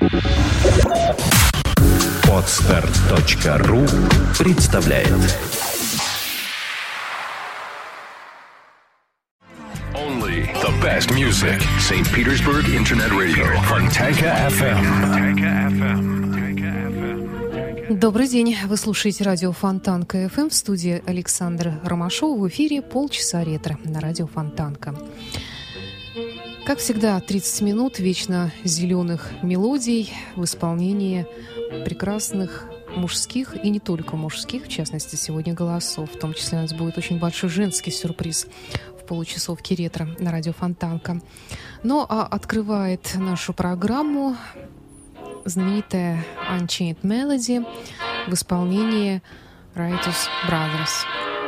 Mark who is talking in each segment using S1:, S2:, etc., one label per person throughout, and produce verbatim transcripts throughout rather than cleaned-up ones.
S1: Подстер точка ру представляет.
S2: Only the best music. Saint Petersburg Internet Radio. Fontanka эф эм.
S3: Добрый день. Вы слушаете радио Фонтанка эф эм. В студии Александр Ромашов. В эфире полчаса ретро на радио Фонтанка. Как всегда, тридцать минут вечно зеленых мелодий в исполнении прекрасных мужских и не только мужских, в частности, сегодня голосов. В том числе у нас будет очень большой женский сюрприз в получасовке ретро на радио Фонтанка. Ну, а открывает нашу программу знаменитая Unchained Melody в исполнении Rightus Brothers.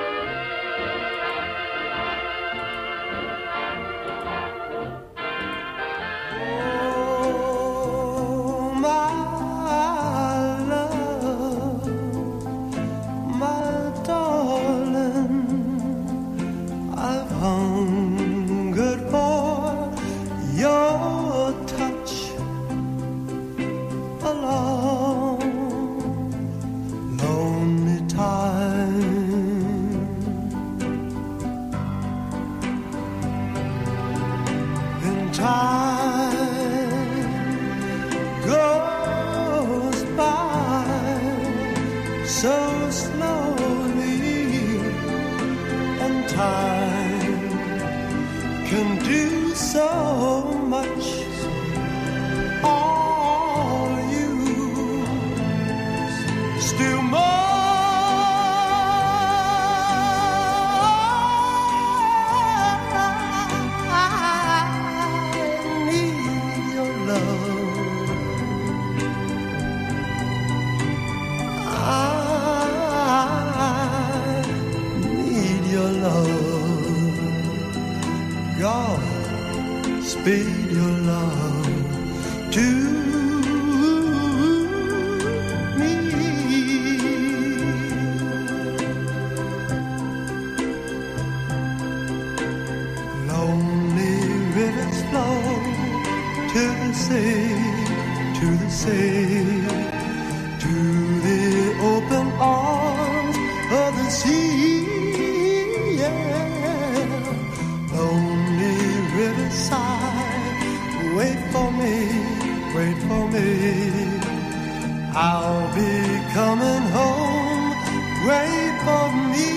S4: Speed your love to me. Lonely rivers flow to the sea, to the sea, to the open arms of the sea. Yeah. Lonely riverside, wait for me, wait for me. I'll be coming home, wait for me.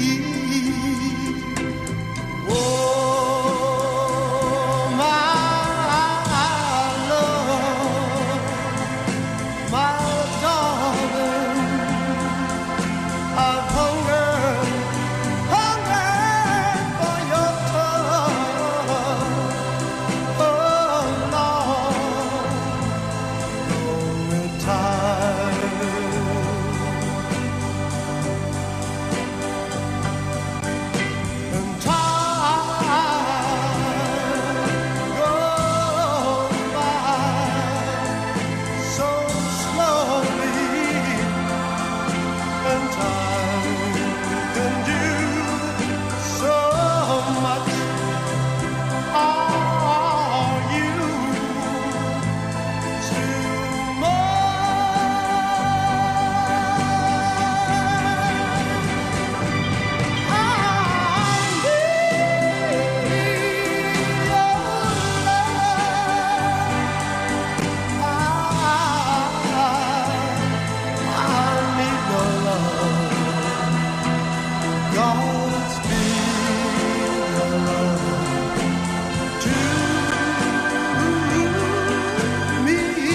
S4: Oh, my love, my darling, I've hungered, hungered for your touch. Oh, Lord, lonely time. And time goes by so slowly, and time can do so much. Are you still mine? I need your love. Godspeed your love to me.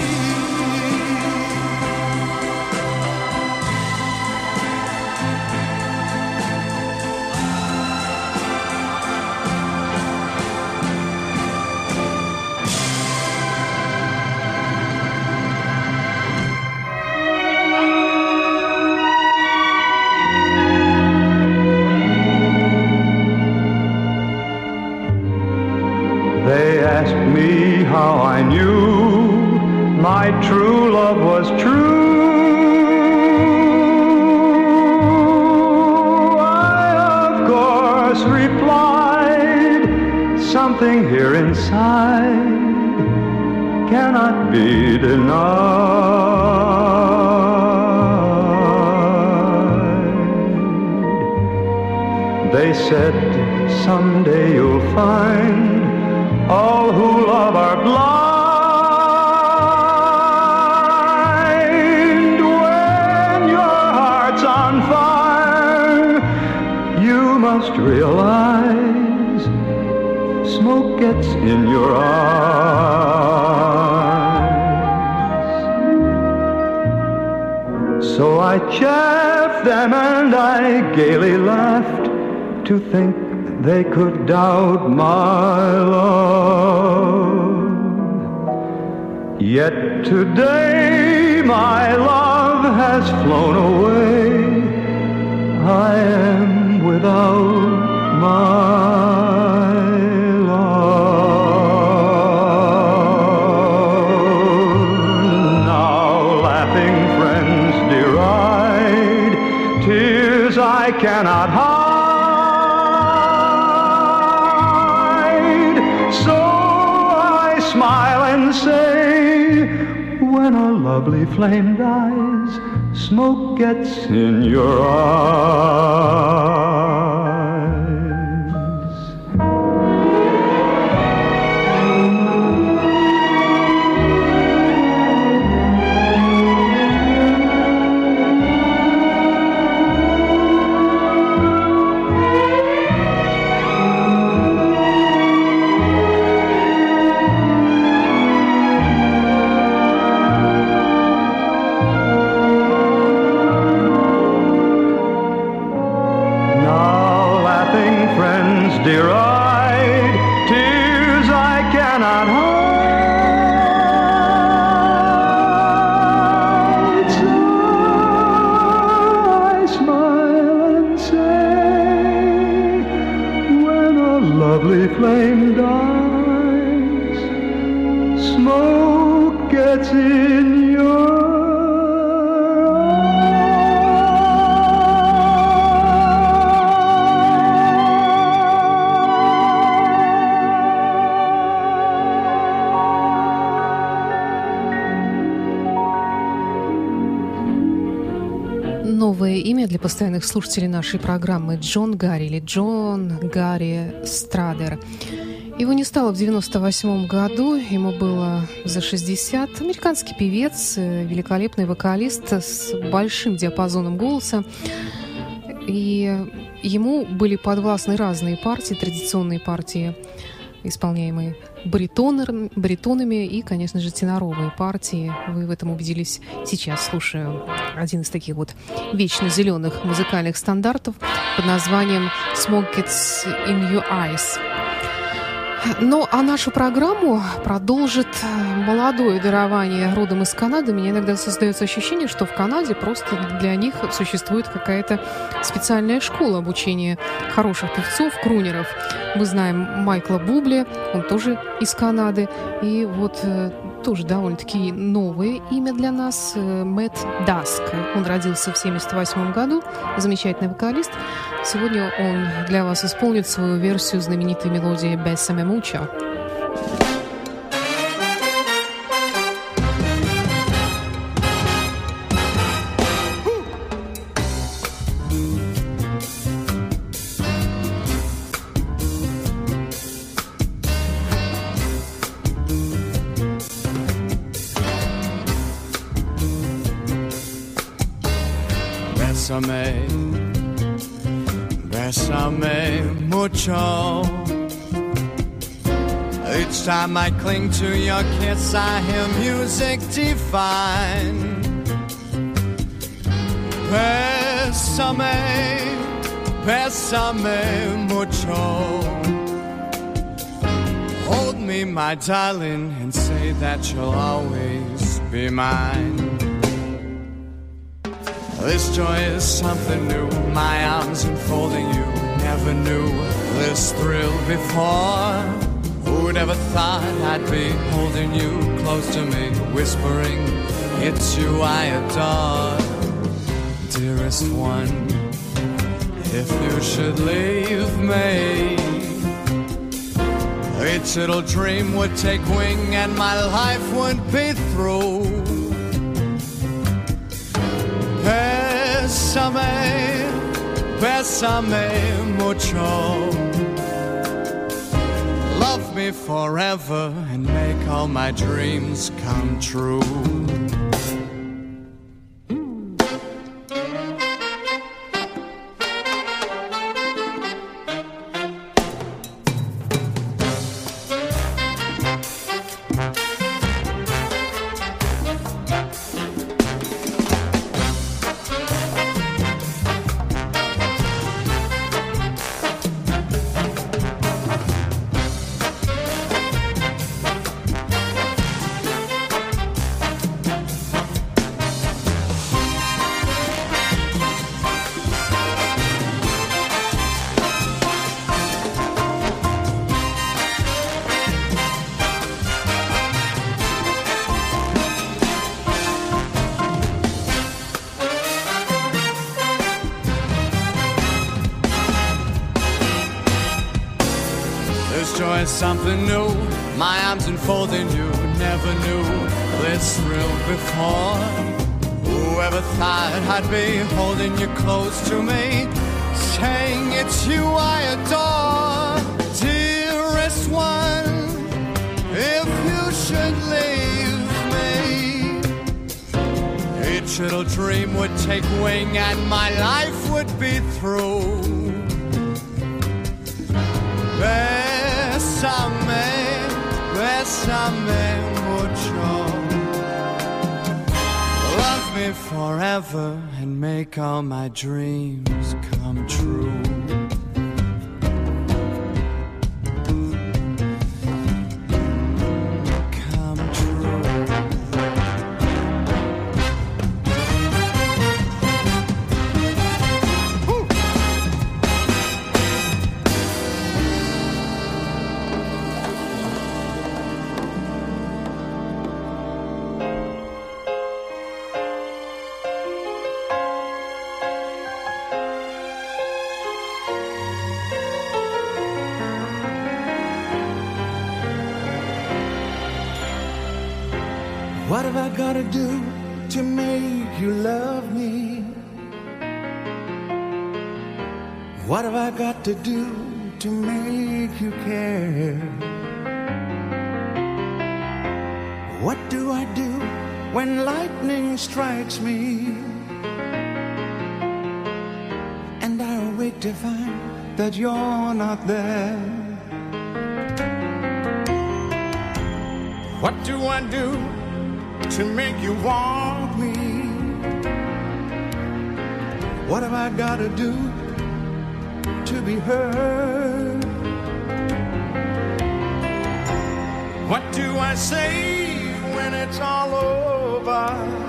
S5: They asked me how I knew my true love was true. I, of course, replied, something here inside cannot be denied. They said someday you'll find all who love are blind. When your heart's on fire, you must realize smoke gets in your eyes. So I chaffed them and I gaily laughed to think they could doubt my love. Yet today my love has flown away. I am without my love. Now laughing friends deride tears I cannot hide. Say, when a lovely flame dies, smoke gets in your eyes. Deride tears I cannot hide. So I smile and say, when a lovely flame dies, smoke gets in your
S3: Новое имя для постоянных слушателей нашей программы — Джон Гарри или Джон Гарри Страдер. Его не стало в девяносто восьмом году, ему было за шестьдесят. Американский певец, великолепный вокалист с большим диапазоном голоса. И ему были подвластны разные партии, традиционные партии, исполняемые баритонер, баритонами и, конечно же, теноровые партии. Вы в этом убедились сейчас, слушая один из таких вот вечно зеленых музыкальных стандартов под названием «Smoke Gets in Your Eyes». Ну, а нашу программу продолжит молодое дарование родом из Канады. У меня иногда создается ощущение, что в Канаде просто для них существует какая-то специальная школа обучения хороших певцов, крунеров. Мы знаем Майкла Бубли, он тоже из Канады. И вот тоже довольно-таки новое имя для нас — Мэтт Даск. Он родился в семьдесят восьмом году, замечательный вокалист. Сегодня он для вас исполнит свою версию знаменитой мелодии «Bésame mucho».
S6: Bésame, bésame mucho. Each time I cling to your kiss, I hear music divine. Bésame, bésame mucho. Hold me, my darling, and say that you'll always be mine. This joy is something new, my arms enfolding you. Never knew this thrill before. Who'd ever thought I'd be holding you close to me, whispering, it's you I adore. Dearest one, if you should leave me, Each little dream would take wing and my life would be through. Bésame, bésame mucho. Love me forever and make all my dreams come true. Something new, my arms enfolding you. Never knew this thrill before. Whoever thought I'd be holding you close to me, saying it's you I adore. Dearest one, if you should leave me, each little dream would take wing and my life would be through. Bésame, bésame mucho. Love me forever and make all my dreams come true.
S7: What have I gotta do to make you love me? What have I got to do to make you care? What do I do when lightning strikes me and I awake to find that you're not there? What do I do to make you want me? What have I got to do to be heard? What do I say when it's all over?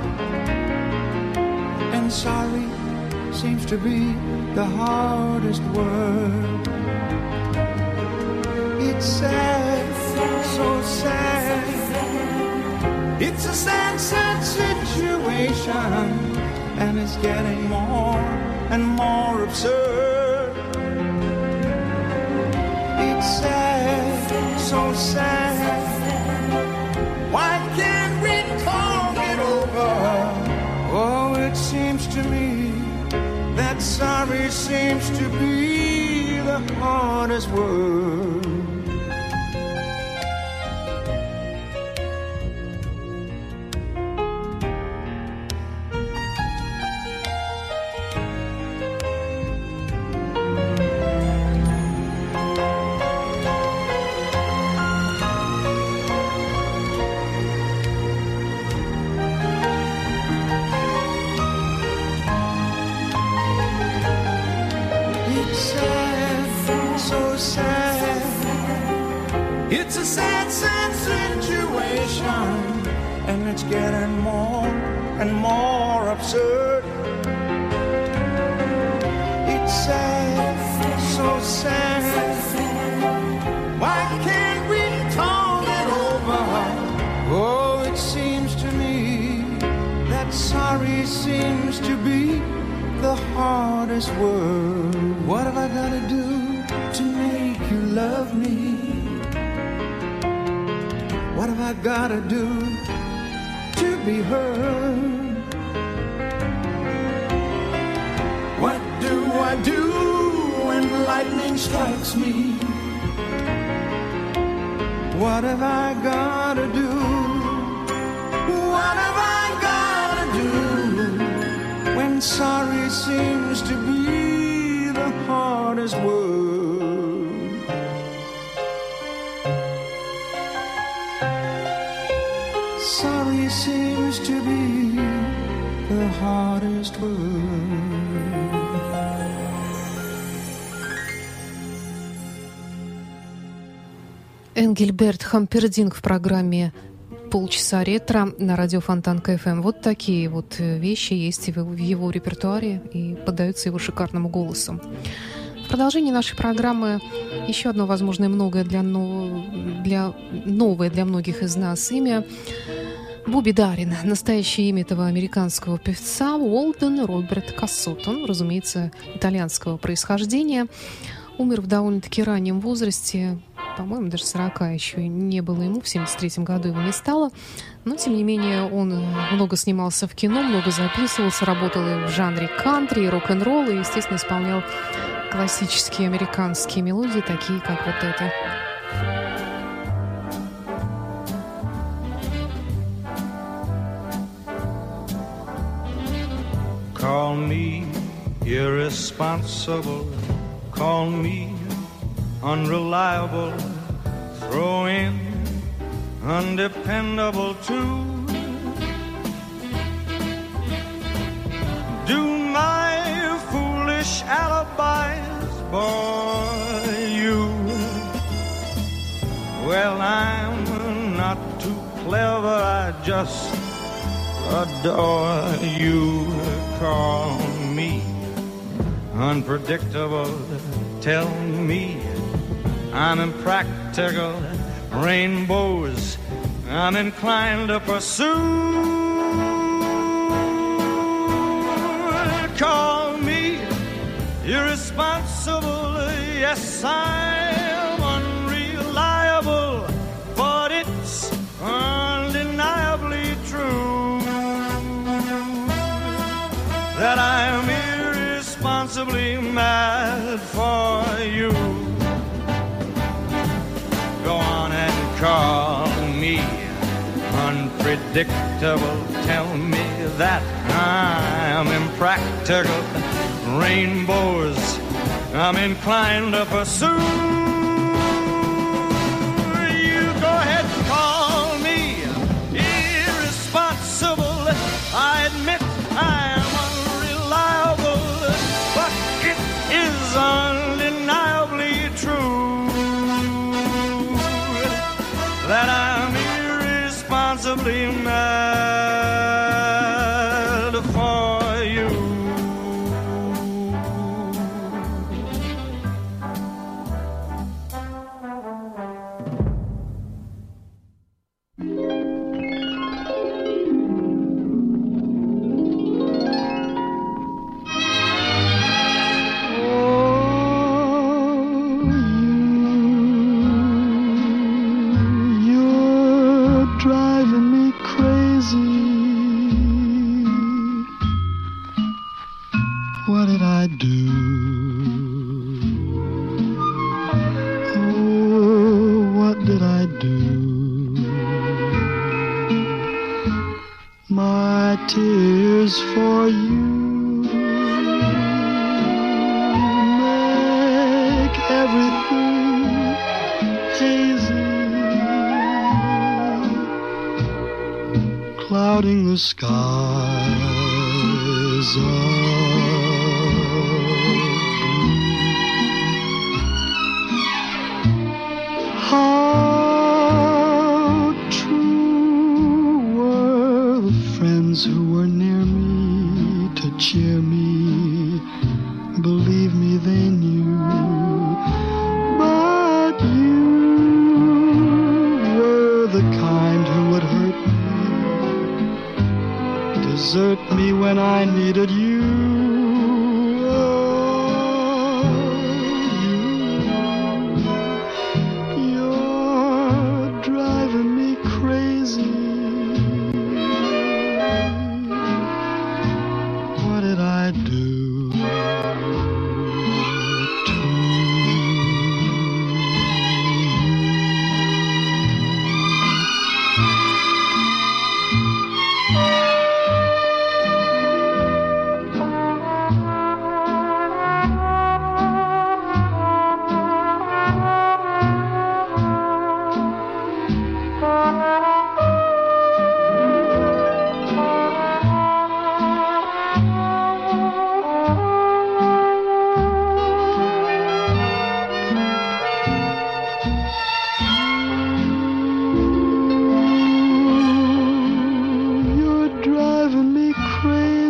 S7: And sorry seems to be the hardest word. It's sad, so sad. It's a sad, sad situation, and it's getting more and more absurd. It's sad, so sad. Why can't we talk it over? Oh, it seems to me that sorry seems to be the hardest word. It's a sad, sad situation, and it's getting more and more absurd. It's sad, so sad. Why can't we talk it over? Oh, it seems to me that sorry seems to be the hardest word. What have I got to do to make you love me? have I gotta do to be heard? What do I do when lightning strikes me? What have I gotta do? What have I gotta do when sorry seems to be the hardest word? Sorry seems to be the hardest word.
S3: Энгельберт Хампердинг в программе «Полчаса ретро» на радио Фонтанка эф эм. Вот такие вот вещи есть в его репертуаре и поддаются его шикарному голосу. В продолжении нашей программы еще одно, возможно, многое для, нов... для... новое для многих из нас имя — Бобби Даррин. Настоящее имя этого американского певца — Уолден Роберт Кассот. Он, разумеется, итальянского происхождения. Умер в довольно-таки раннем возрасте, по-моему, даже сорока еще не было ему, в семьдесят третьем году его не стало. Но, тем не менее, он много снимался в кино, много записывался, работал и в жанре кантри, и рок-н-ролл, и, естественно, исполнял классические американские мелодии, такие как вот эта.
S8: Call me irresponsible, call me unreliable, throw in undependable too. Do my foolish alibis bore you? Well, I'm not too clever, I just adore you. Call me unpredictable, tell me I'm impractical, rainbows I'm inclined to pursue. Call me irresponsible, yes, I'm unreliable, but it's undeniably true that I'm irresponsibly mad for you. Go on and call me unpredictable, tell me that I'm impractical, rainbows I'm inclined to pursue. You go ahead and call me irresponsible, I admit I'm unreliable, but it is undeniably true that I'm irresponsibly mad for you.
S9: What did I do? Oh, what did I do? My tears for you make everything hazy, clouding the skies of how true were the friends who were near me to cheer me. Believe me, they knew. But you were the kind who would hurt me, desert me when I needed you.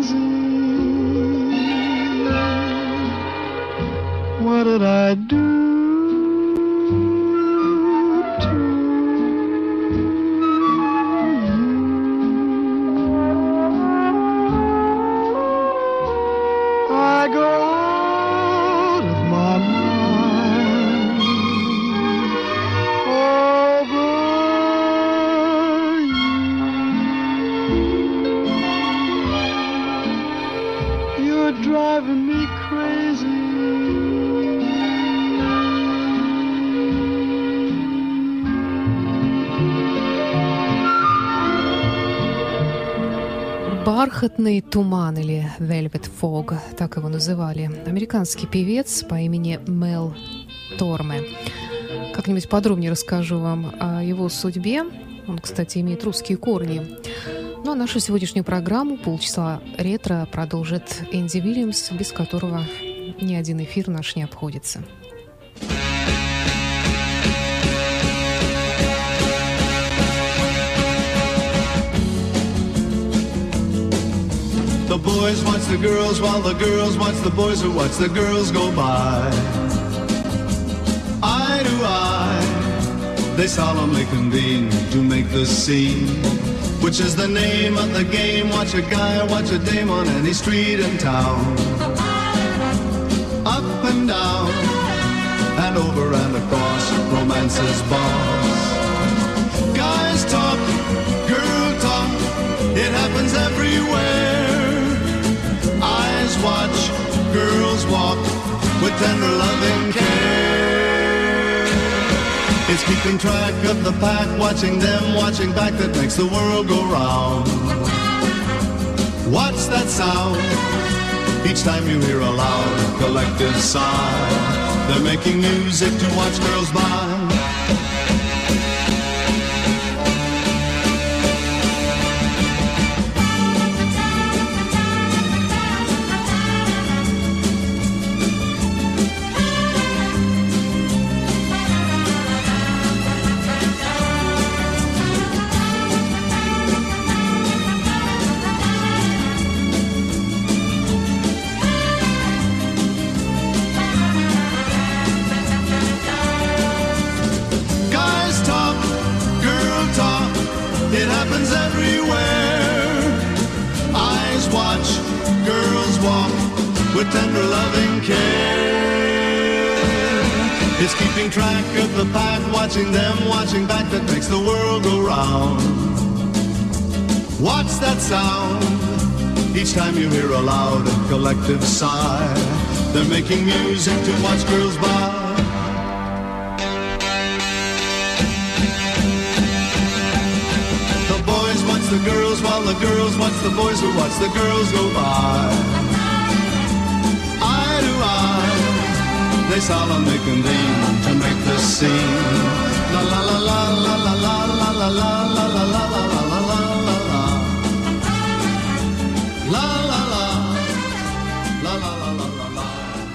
S9: crazy. What did I do to you? I go out of my mind over you. You're driving me crazy.
S3: «Бархатный туман» или «Velvet Fog», так его называли. Американский певец по имени Мел Торме. Как-нибудь подробнее расскажу вам о его судьбе. Он, кстати, имеет русские корни. Ну а нашу сегодняшнюю программу «Полчаса ретро» продолжит Энди Уильямс, без которого ни один эфир наш не обходится.
S10: The boys watch the girls while the girls watch the boys who watch the girls go by. Eye to eye, they solemnly convene to make the scene, which is the name of the game. Watch a guy, watch a dame on any street in town. Up and down, and over and across, romance's boss. Guys talk, girl talk, it happens everywhere. Eyes watch, girls walk with tender loving care. It's keeping track of the pack, watching them, watching back, that makes the world go round. What's that sound? Each time you hear a loud collective sigh, they're making music to watch girls by. With tender loving care, it's keeping track of the pack, watching them, watching back, that makes the world go round. What's that sound? Each time you hear a loud collective sigh, they're making music to watch girls by. The boys watch the girls while the girls watch the boys who watch the girls go by. They solemnly convene to make the scene. La la la la la la la la la la la la la la la la la la. La la la. La la la la la la.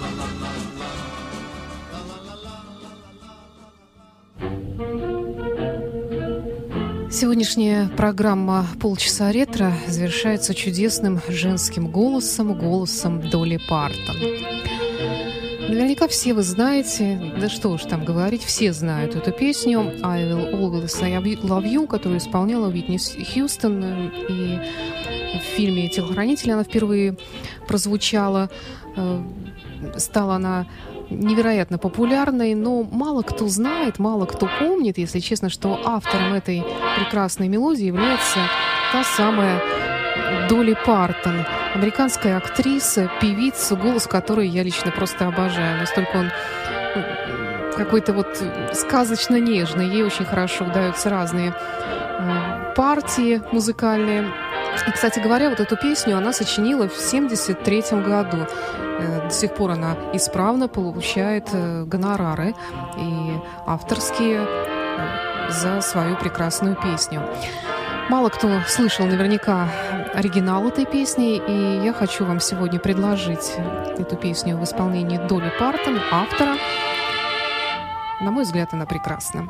S3: Сегодняшняя программа «Полчаса ретро» завершается чудесным женским голосом, голосом Долли Партон. Наверняка все вы знаете, да что уж там говорить, все знают эту песню «I Will Always Love You», которую исполняла Уитни Хьюстон, и в фильме «Телохранитель» она впервые прозвучала. Стала она невероятно популярной, но мало кто знает, мало кто помнит, если честно, что автором этой прекрасной мелодии является та самая Долли Партон, американская актриса, певица, голос которой я лично просто обожаю. Настолько он какой-то вот сказочно нежный. Ей очень хорошо удаются разные э, партии музыкальные. И, кстати говоря, вот эту песню она сочинила в семьдесят третьем году. Э, до сих пор она исправно получает э, гонорары и авторские э, за свою прекрасную песню. Мало кто слышал наверняка оригинал этой песни, и я хочу вам сегодня предложить эту песню в исполнении Долли Партон, автора. На мой взгляд, она прекрасна.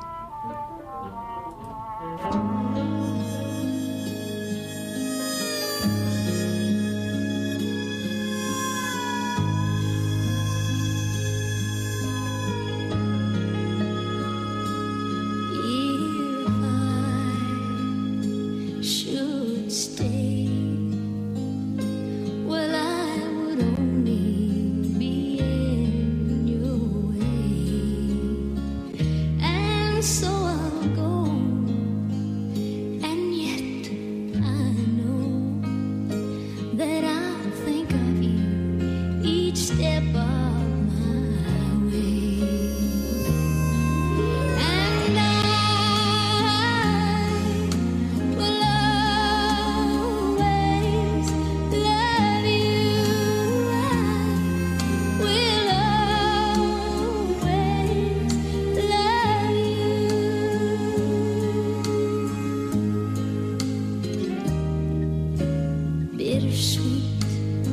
S11: bittersweet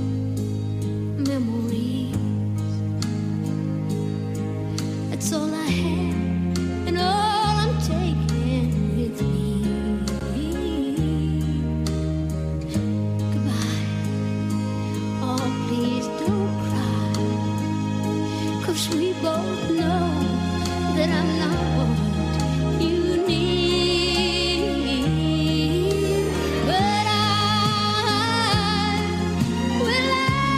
S11: memories. That's all I have and all I'm taking with me. Goodbye. Oh, please don't cry, 'cause we both know that I'm not what you need. But I will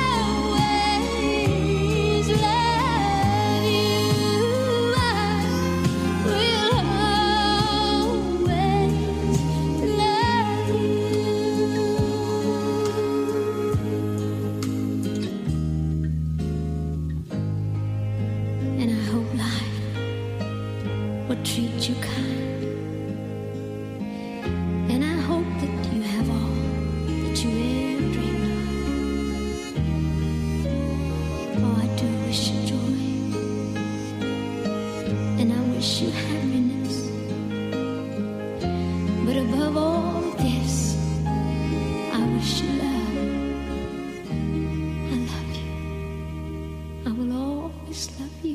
S11: always love you. I will always love you. And I hope life will treat you kind, and I hope that you have all that you ever dreamed of. Oh, I do wish you joy, and I wish you happiness, but above all this, I wish you love. I love you. I will always love you.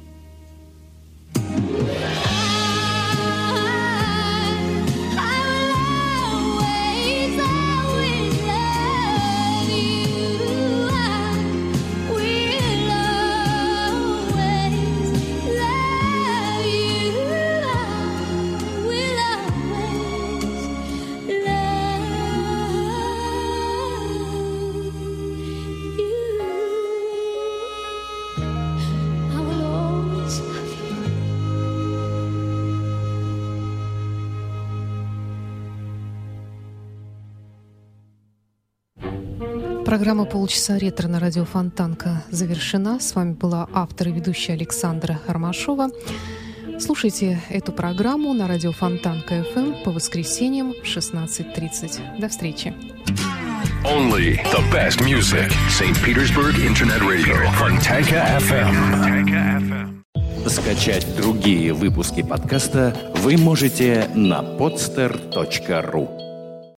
S3: Программа «Полчаса ретро» на радио Фонтанка завершена. С вами была автор и ведущая Александра Ромашова. Слушайте эту программу на радио Фонтанка эф эм по воскресеньям в шестнадцать тридцать. До встречи.
S2: Only the best music. Saint Petersburg Internet Radio. Fontanka эф эм.
S1: Скачать другие выпуски подкаста вы можете на podster точка ру.